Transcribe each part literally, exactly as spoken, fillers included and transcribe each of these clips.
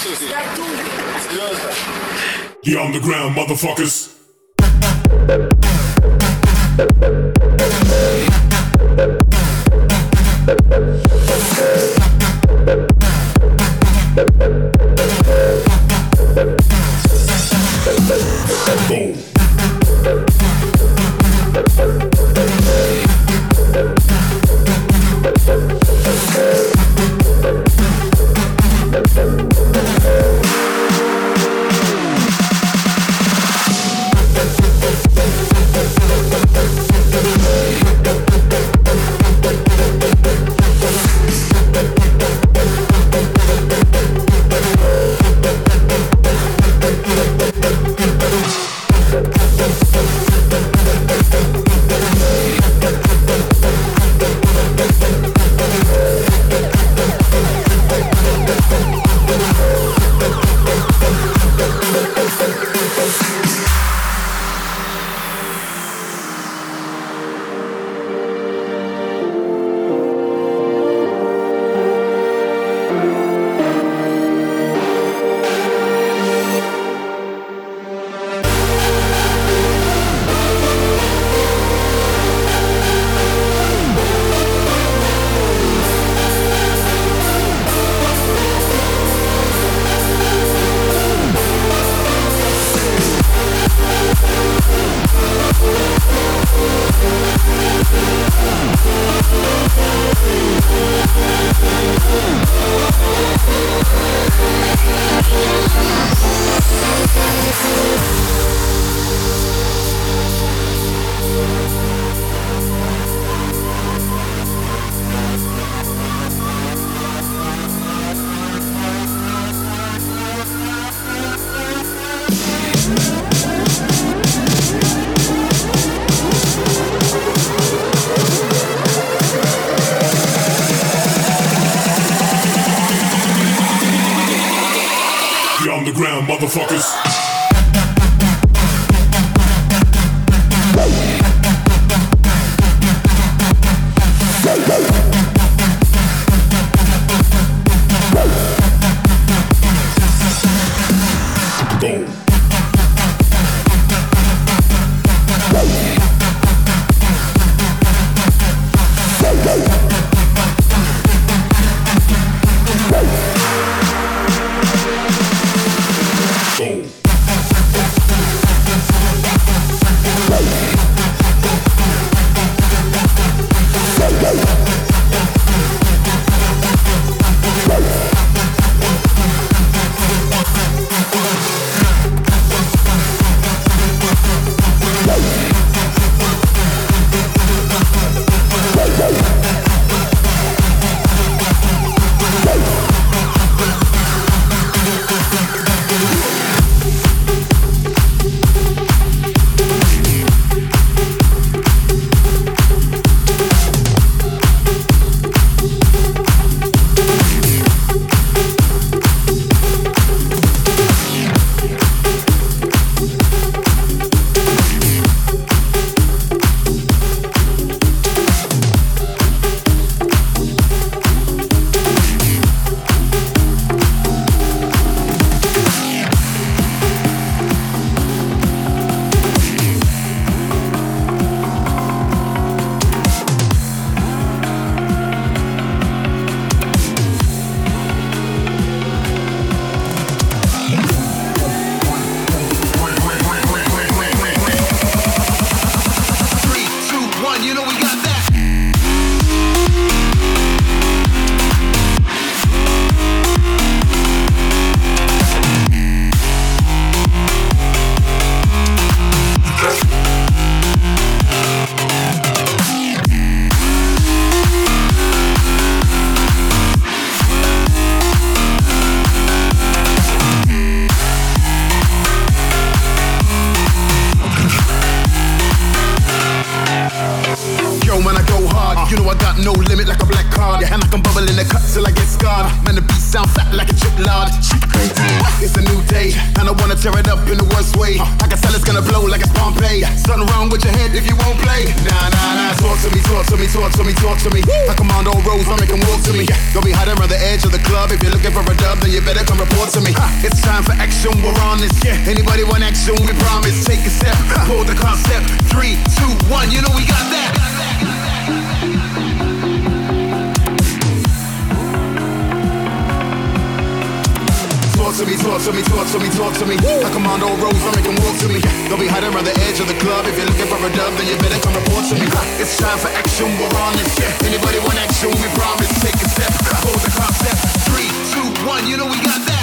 Серьезно? The underground motherfuckers. Go. The underground motherfuckers. Go. Go. in the cut till I get scarred. Man, the beat sound fat like a chip lard. It's a new day, and I wanna tear it up in the worst way. I can tell it's gonna blow like it's Pompeii. Something wrong with your head if you won't play. Nah, nah, nah, talk to me, talk to me, talk to me, talk to me. I command all roads, I make them walk to me. Don't be hiding around the edge of the club. If you're looking for a dub, then you better come report to me. It's time for action, we're on this. Anybody want action, we promise. Take a step, hold the concept. Three, two, one, you know we got that. Talk to me, talk to me, talk to me, talk to me. I command all roads, I make them walk to me. Don't be hiding around the edge of the club. If you're looking for a dub, then you better come report to me. It's time for action, we're on this. Anybody want action, we promise. Take a step, hold the concept. Three, two, one, you know we got that.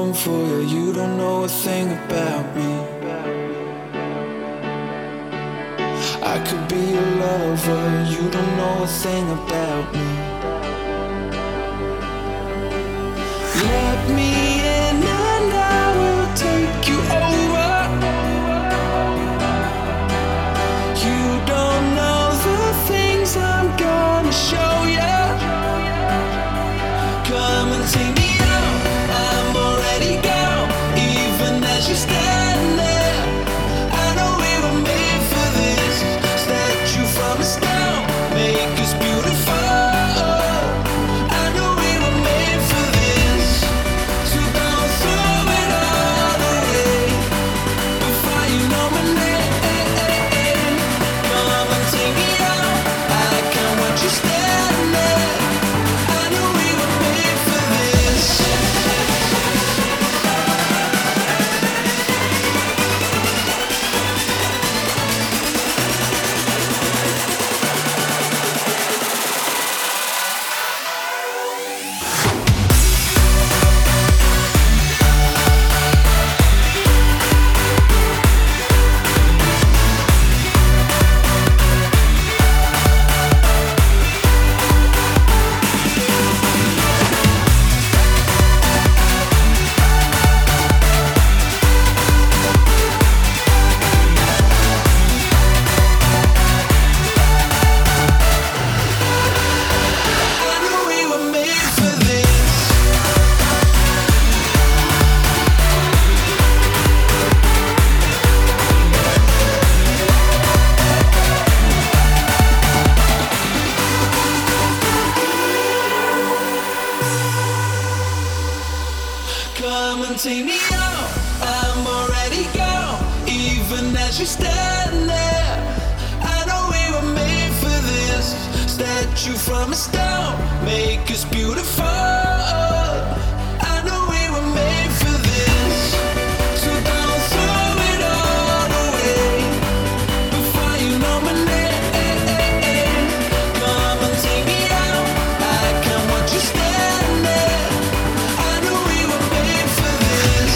falling for you, you don't know a thing about me. I could be your lover, you don't know a thing about me. Let me in and I will take you over. You don't know the things I'm gonna show you. Come and take me out, I'm already gone. Even as you stand there, I know we were made for this. Statue from a stone, make us beautiful. I know we were made for this. So don't throw it all away before you know my name. Come and take me out, I can't watch you stand there. I know we were made for this. I know we were made for this. Come and take me out, I'm already gone. Even as you stand there, I know we were made for this. Statue from a stone, make us beautiful. I know we were made for this. So don't throw it all away before you know my name. Come and take me out, I can't watch you stand there. I know we were made for this.